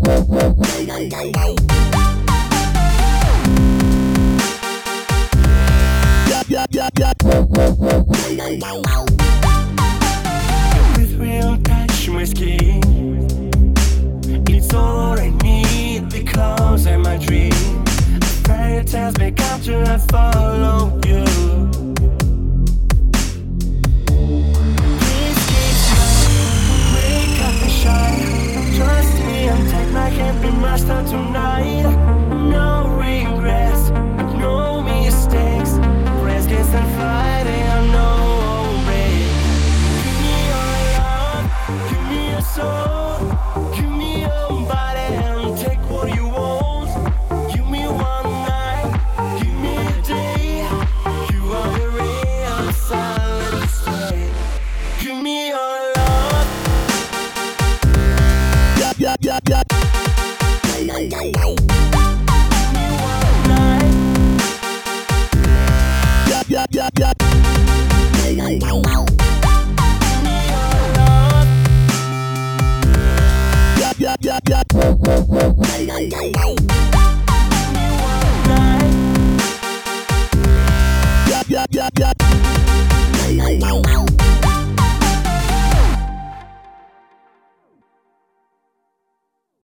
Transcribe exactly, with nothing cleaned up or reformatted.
With real touch my skin, it's all I need because I'm a dream. Fairy tales may come true, I follow you. Please keep smiling, wake up and shine. Trust me and take my hand, be master tonight. No regrets, no mistakes. Praise against and fighting, I know break. Give me your love, give me your soul, give me your body and take what you want. Give me one night, give me a day. You are the real silent stay. Give me your love. Yeah, yeah, yeah, yeah. Yeah, yeah, yeah. Yeah, yeah, yeah, yeah.